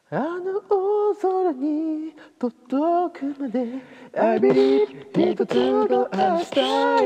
あの大空に届くまで I believe 一つの明日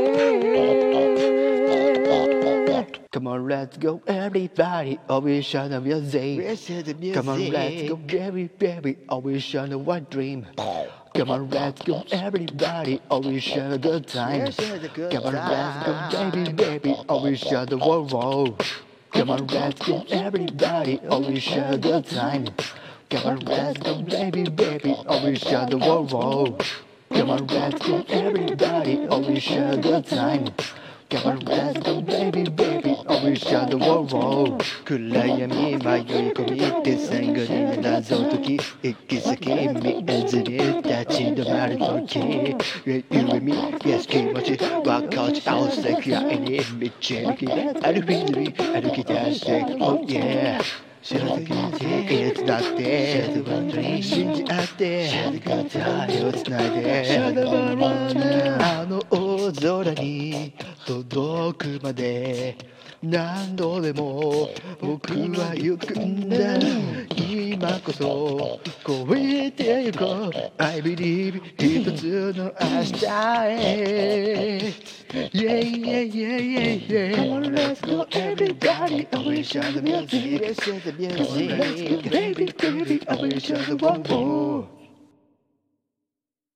へ Come on let's go everybody all we shall the music Come on let's go baby baby all we shall the one dream Come on let's go everybody all we shall a good time Come on let's go baby baby all we shall the world Come on let's go everybody all we shall a good time Come on, let's go, baby, baby, all we share the world. Come on, let's go, everybody, all we share a good time. Come on, let's go, baby, baby, all we share the world. 暗闇迷い込みて最後に謎解き行き先見えずに立ち止まる時 You and me, yes 気持ち分かち合わせ世界に導き歩き出して Oh yeah知らずにいつだって信じ合って手をつないであの大空に届くまで何度でも僕は行くんだ今こそ超えてゆこう I believe 一つの明日へ Yeah yeah yeah yeah yeah Come on let's go everybody I wish I the music Come on let's go baby baby I wish I the one more